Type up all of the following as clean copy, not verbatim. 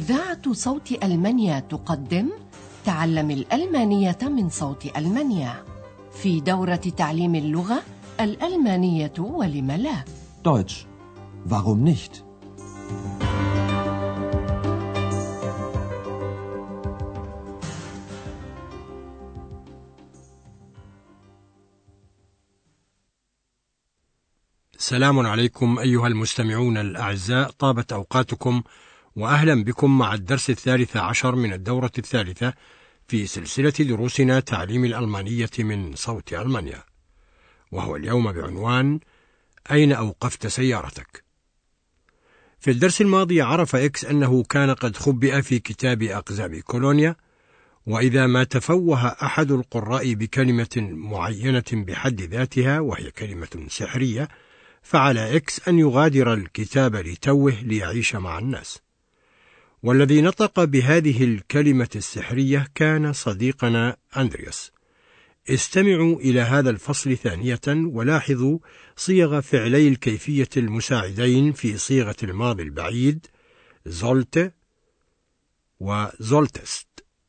إذاعة صوت ألمانيا تقدم تعلم الألمانية من صوت ألمانيا في دورة تعليم اللغة الألمانية ولم لا. Deutsch. Warum nicht? سلام عليكم أيها المستمعون الأعزاء، طابت أوقاتكم وأهلا بكم مع الدرس 13 من الدورة 3 في سلسلة دروسنا تعليم الألمانية من صوت ألمانيا، وهو اليوم بعنوان أين أوقفت سيارتك؟ في الدرس الماضي عرف إكس أنه كان قد خبئ في كتاب أقزام كولونيا، وإذا ما تفوه أحد القراء بكلمة معينة بحد ذاتها وهي كلمة سحرية، فعلى إكس أن يغادر الكتاب لتوه ليعيش مع الناس. والذي نطق بهذه الكلمة السحرية كان صديقنا أندرياس. استمعوا إلى هذا الفصل ثانية ولاحظوا صيغ فعلي الكيفية المساعدين في صيغة الماضي البعيد sollte و solltest.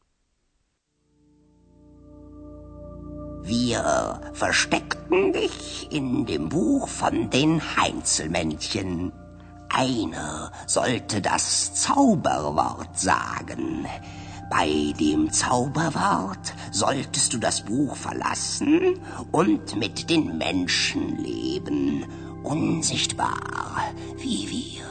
Wir versteckten dich in dem Buch von den Heinzelmännchen. Einer sollte das Zauberwort sagen. Bei dem Zauberwort solltest du das Buch verlassen und mit den Menschen leben, unsichtbar wie wir.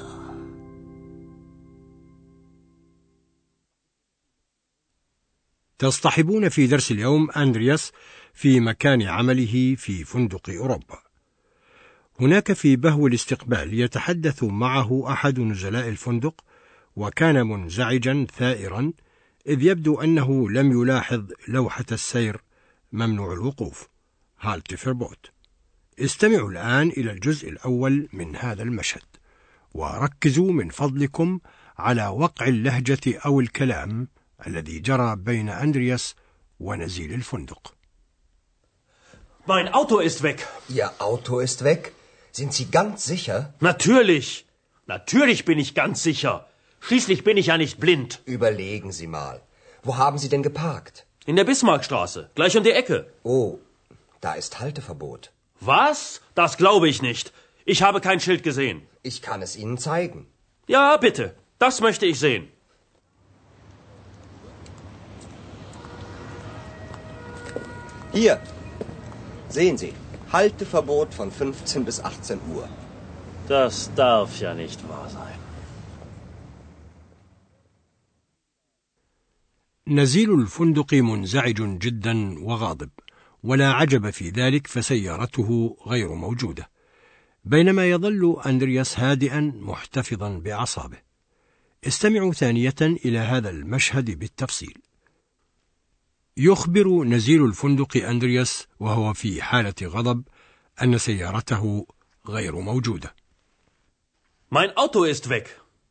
تصطحبون في درس اليوم أندرياس في مكان عمله في فندق أوروبا. هناك في بهو الاستقبال يتحدث معه أحد نزلاء الفندق، وكان منزعجا ثائرا إذ يبدو أنه لم يلاحظ لوحة السير ممنوع الوقوف هالت فيربوت. استمعوا الآن إلى الجزء الأول من هذا المشهد، وركزوا من فضلكم على وقع اللهجة أو الكلام الذي جرى بين أندرياس ونزيل الفندق. Mein Auto ist weg. Ihr Auto ist weg? Sind Sie ganz sicher? Natürlich. Natürlich bin ich ganz sicher. Schließlich bin ich ja nicht blind. Überlegen Sie mal. Wo haben Sie denn geparkt? In der Bismarckstraße, gleich um die Ecke. Oh, da ist Halteverbot. Was? Das glaube ich nicht. Ich habe kein Schild gesehen. Ich kann es Ihnen zeigen. Ja, bitte. Das möchte ich sehen. Hier. Sehen Sie. Halteverbot von 15 bis 18 Uhr. Das darf ja nicht wahr sein. نزيل الفندق منزعج جدا وغاضب، ولا عجب في ذلك فسيارته غير موجودة، بينما يظل أندرياس هادئا محتفظا بأعصابه. استمعوا ثانية إلى هذا المشهد بالتفصيل. يخبر نزيل الفندق أندرياس وهو في حالة غضب أن سيارته غير موجودة. Mein Auto ist weg.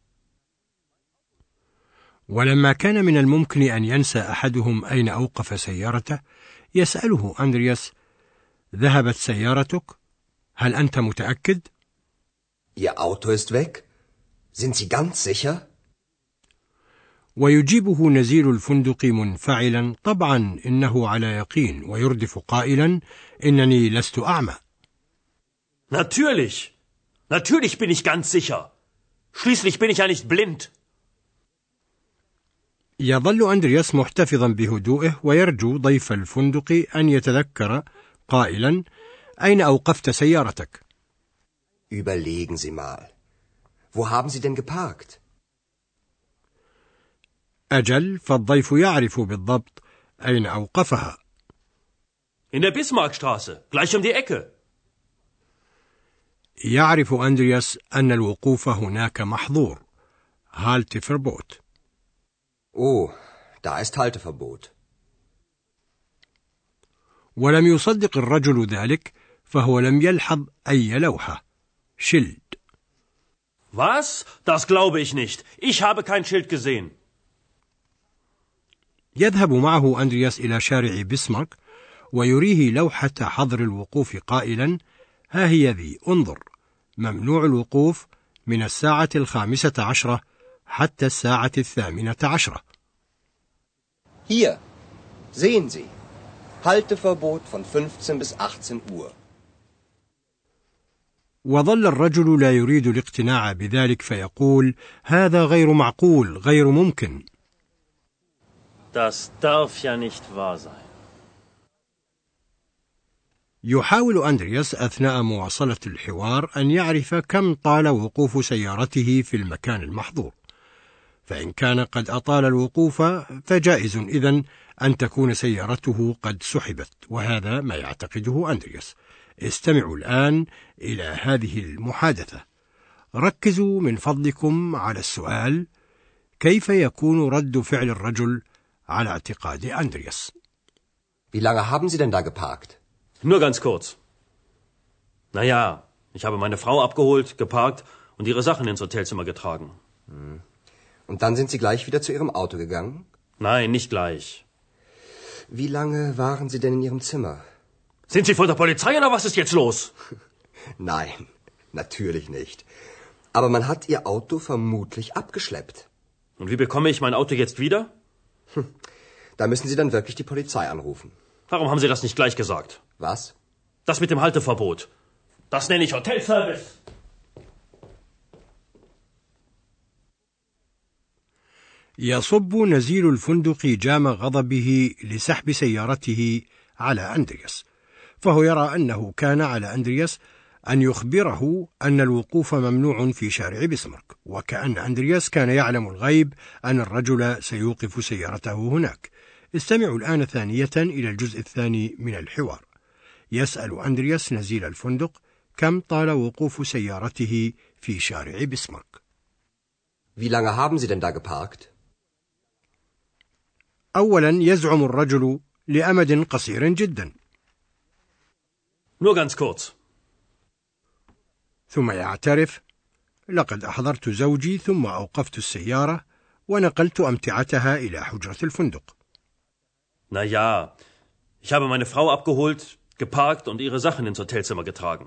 ولما كان من الممكن أن ينسى أحدهم أين أوقف سيارته، يسأله أندرياس: ذهبت سيارتك؟ هل أنت متأكد؟ Ihr Auto ist weg? Sind Sie ganz sicher? ويجيبه نزيل الفندق منفعلا: طبعا إنه على يقين، ويردف قائلا: إنني لست أعمى. Natürlich. Natürlich bin ich ganz sicher. Schließlich bin ich ja nicht blind. يظل أندرياس محتفظا بهدوئه ويرجو ضيف الفندق أن يتذكر قائلا: أين أوقفت سيارتك؟ Überlegen Sie mal. Wo haben Sie denn geparkt? أجل، فالضيف يعرف بالضبط أين أوقفها. In der Bismarckstraße, gleich um die Ecke. يعرف أندرياس أن الوقوف هناك محظور هالت فيربوت. Oh, da ist Halteverbot. ولم يصدق الرجل ذلك، فهو لم يلحظ أي لوحة شيلد. Was? Das glaube ich nicht. Ich habe kein Schild gesehen. يذهب معه أندرياس إلى شارع بسمارك ويريه لوحة حظر الوقوف قائلا: ها هي ذي، انظر، ممنوع الوقوف من 5:15 حتى الساعة 12. Hier, sehen Sie. Halteverbot von 15 bis 18 Uhr. وظل الرجل لا يريد الاقتناع بذلك فيقول: هذا غير معقول، غير ممكن. Das darf ja nicht wahr sein. يحاول أندرياس أثناء مواصلة الحوار أن يعرف كم طال وقوف سيارته في المكان المحظور، فإن كان قد أطال الوقوف فجائز إذن أن تكون سيارته قد سحبت، وهذا ما يعتقده أندرياس. استمعوا الآن إلى هذه المحادثة. ركزوا من فضلكم على السؤال: كيف يكون رد فعل الرجل على اعتقاد أندرياس؟ Wie lange haben Sie denn da geparkt? Nur ganz kurz. Naja, ich habe meine Frau abgeholt, geparkt und ihre Sachen ins Hotelzimmer getragen. Und dann sind Sie gleich wieder zu Ihrem Auto gegangen? Nein, nicht gleich. Wie lange waren Sie denn in Ihrem Zimmer? Sind Sie von der Polizei oder was ist jetzt los? Nein, natürlich nicht. Aber man hat Ihr Auto vermutlich abgeschleppt. Und wie bekomme ich mein Auto jetzt wieder? Da müssen Sie dann wirklich die Polizei anrufen. Warum haben Sie das nicht gleich gesagt? Was? Das mit dem Halteverbot. Das nenne ich Hotelservice. يصب نزيل الفندق جام غضبه لسحب سيارته على أندرياس، فهو يرى أنه كان على أندرياس أن يخبره أن الوقوف ممنوع في شارع بسمارك، وكأن أندرياس كان يعلم الغيب أن الرجل سيوقف سيارته هناك. استمعوا الآن ثانية إلى الجزء الثاني من الحوار. يسأل أندرياس نزيل الفندق كم طال وقوف سيارته في شارع بسمارك. Wie lange haben Sie denn da geparkt? أولا يزعم الرجل لأمد قصير جدا. Nur ganz kurz. ثم يعترف: لقد أحضرت زوجي ثم أوقفت السيارة ونقلت أمتعتها إلى حجرة الفندق. Naja, ich habe meine Frau abgeholt, geparkt und ihre Sachen ins Hotelzimmer getragen.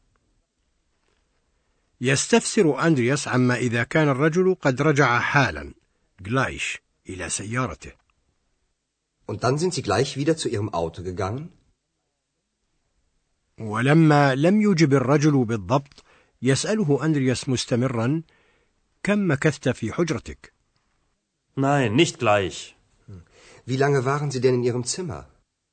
يستفسر أندرياس عما إذا كان الرجل قد رجع حالا gleich إلى سيارته. Und dann sind Sie gleich wieder zu Ihrem Auto gegangen? ولما لم يجب الرجل بالضبط يسأله أندرياس مستمرا: كم مكثت في حجرتك؟ Nein, nicht gleich. Wie lange waren Sie denn in Ihrem Zimmer?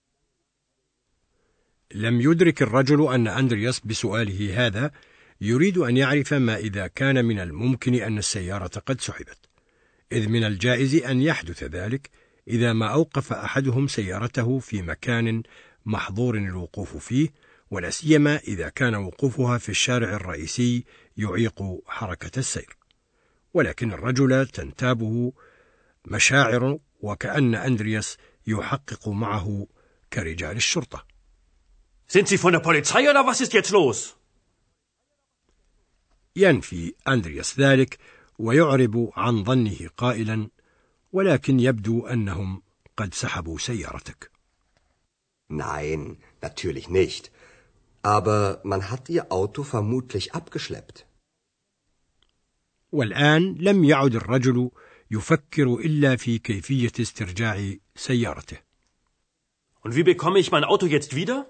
لم يدرك الرجل أن أندرياس بسؤاله هذا يريد أن يعرف ما إذا كان من الممكن أن السيارة قد سحبت، إذ من الجائز أن يحدث ذلك إذا ما أوقف أحدهم سيارته في مكان محظور الوقوف فيه، ولا سيما إذا كان وقوفها في الشارع الرئيسي يعيق حركة السير. ولكن الرجل تنتابه مشاعر وكأن أندرياس يحقق معه كرجال الشرطة. Sind Sie von der Polizei oder was ist jetzt los? ينفي أندرياس ذلك ويعرب عن ظنه قائلا: ولكن يبدو أنهم قد سحبوا سيارتك. Nein, natürlich nicht. Aber man hat Ihr Auto vermutlich abgeschleppt. والآن لم يعد الرجل يفكر إلا في كيفية استرجاع سيارته. Und wie bekomme ich mein Auto jetzt wieder?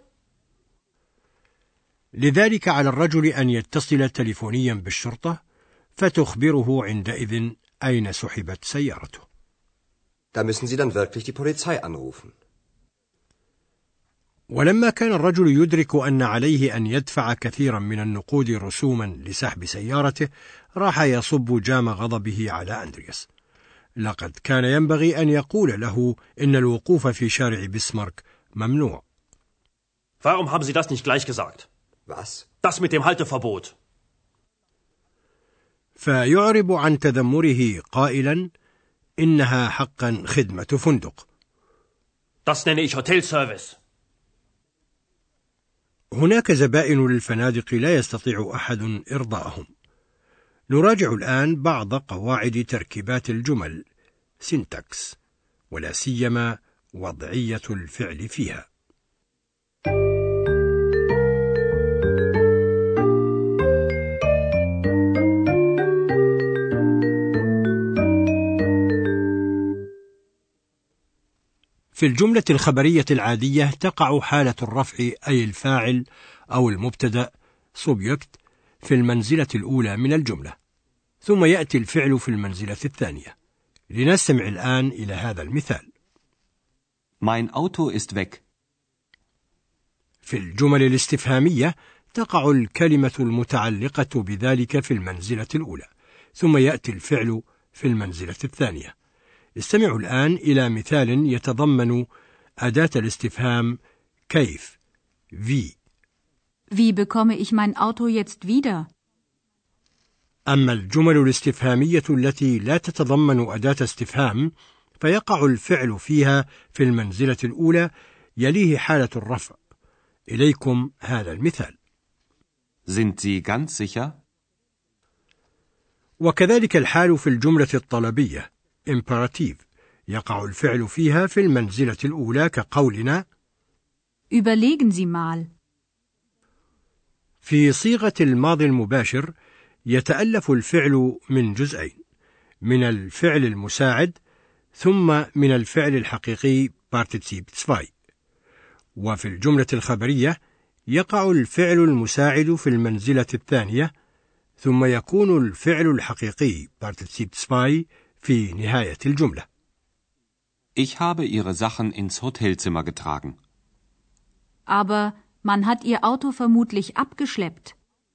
لذلك على الرجل أن يتصل تليفونيا بالشرطة فتخبره عندئذ أين سحبت سيارته. Da müssen Sie dann wirklich die Polizei anrufen. ولما كان الرجل يدرك أن عليه أن يدفع كثيرا من النقود رسوما لسحب سيارته راح يصب جام غضبه على أندرياس. لقد كان ينبغي أن يقول له إن الوقوف في شارع بسمارك ممنوع. Warum haben Sie das nicht gleich gesagt? Was? Das mit dem Halteverbot. فيعرب عن تذمره قائلا: إنها حقا خدمة فندق. Das nenne ich Hotelservice. هناك زبائن للفنادق لا يستطيع أحد إرضاءهم. نراجع الآن بعض قواعد تركيبات الجمل سينتاكس، ولا سيما وضعية الفعل فيها. في الجملة الخبرية العادية تقع حالة الرفع أي الفاعل أو المبتدأ subject في المنزلة الأولى من الجملة، ثم يأتي الفعل في المنزلة الثانية. لنستمع الآن إلى هذا المثال. Mein Auto ist weg. في الجمل الاستفهامية تقع الكلمة المتعلقة بذلك في المنزلة الأولى، ثم يأتي الفعل في المنزلة الثانية. استمعوا الآن إلى مثال يتضمن أداة الاستفهام كيف wie. Wie bekomme ich mein Auto jetzt wieder? أما الجمل الاستفهامية التي لا تتضمن أداة استفهام فيقع الفعل فيها في المنزلة الأولى يليه حالة الرفع. إليكم هذا المثال. Sind Sie ganz sicher? وكذلك الحال في الجملة الطلبية imperative يقع الفعل فيها في المنزلة الأولى كقولنا Überlegen Sie mal. في صيغة الماضي المباشر يتألف الفعل من جزئين، من الفعل المساعد ثم من الفعل الحقيقي partizip 2. وفي الجملة الخبرية يقع الفعل المساعد في المنزلة الثانية، ثم يكون الفعل الحقيقي partizip 2 في نهاية الجملة. Ich habe Ihre Sachen ins Hotelzimmer getragen. Aber man hat Ihr Auto vermutlich abgeschleppt.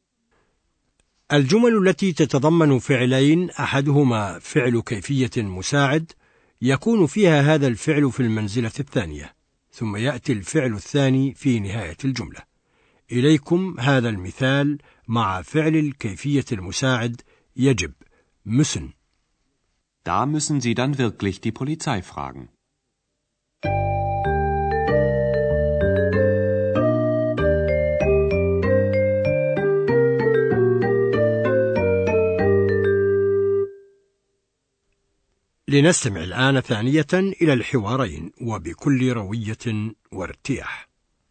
الجمل التي تتضمن فعلين أحدهما فعل كيفية مساعد يكون فيها هذا الفعل في المنزلة الثانية، ثم يأتي الفعل الثاني في نهاية الجملة. إليكم هذا المثال مع فعل الكيفية المساعد يجب müssen. Da müssen Sie dann wirklich die Polizei fragen. لنستمع الآن ثانية إلى الحوارين وبكل روية وارتياح.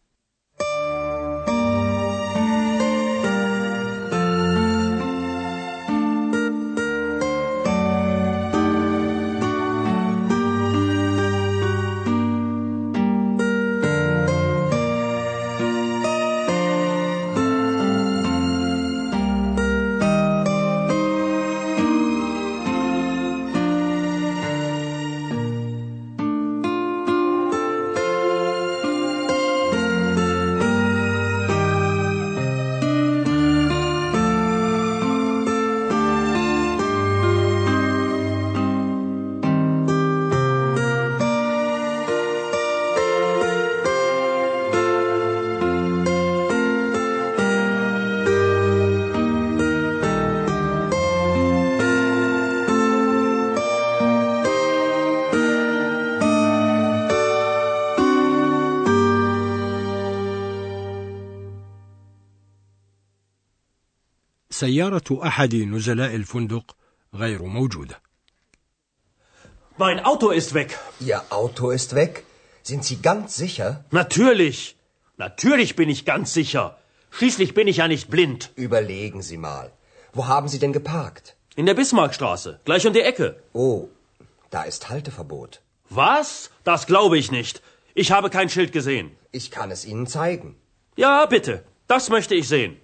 سيارة أحد نزلاء الفندق غير موجودة. Mein Auto ist weg. Ihr Auto ist weg? Sind Sie ganz sicher? Natürlich. Natürlich bin ich ganz sicher. Schließlich bin ich ja nicht blind. Überlegen Sie mal. Wo haben Sie denn geparkt? In der Bismarckstraße, gleich um die Ecke. Oh, da ist Halteverbot. Was? Das glaube ich nicht. Ich habe kein Schild gesehen. Ich kann es Ihnen zeigen. Ja, bitte. Das möchte ich sehen.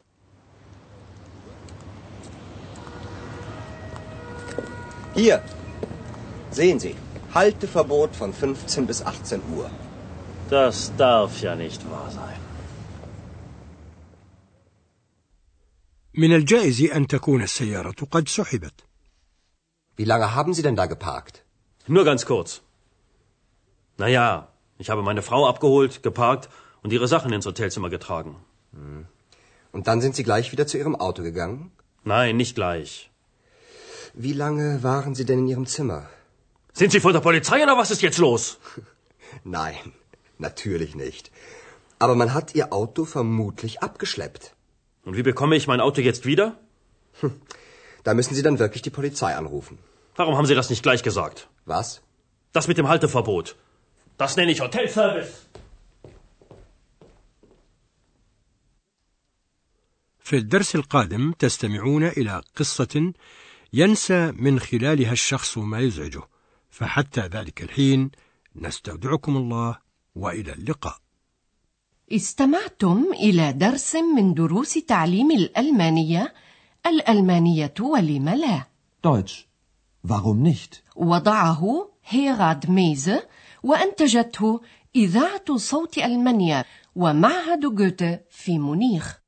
Hier, sehen Sie, Halteverbot von 15 bis 18 Uhr. Das darf ja nicht wahr sein. من الجائز أن تكون السيارة قد سحبت. Wie lange haben Sie denn da geparkt? Nur ganz kurz. Naja, ich habe meine Frau abgeholt, geparkt und ihre Sachen ins Hotelzimmer getragen. Und dann sind Sie gleich wieder zu Ihrem Auto gegangen? Nein, nicht gleich. Wie lange waren Sie denn in Ihrem Zimmer? Sind Sie von der Polizei oder was ist jetzt los? Nein, natürlich nicht. Aber man hat Ihr Auto vermutlich abgeschleppt. Und wie bekomme ich mein Auto jetzt wieder? Da müssen Sie dann wirklich die Polizei anrufen. Warum haben Sie das nicht gleich gesagt? Was? Das mit dem Halteverbot. Das nenne ich Hotelservice. في الدرس القادم تستمعون إلى قصة ينسى من خلالها الشخص ما يزعجه، فحتى ذلك الحين نستودعكم الله وإلى اللقاء. استمعتم إلى درس من دروس تعليم الألمانية ولم لا. Deutsch. Warum nicht? وضعه هيراد ميزه وأنتجته إذاعة صوت ألمانيا ومعهد جوته في مونيخ.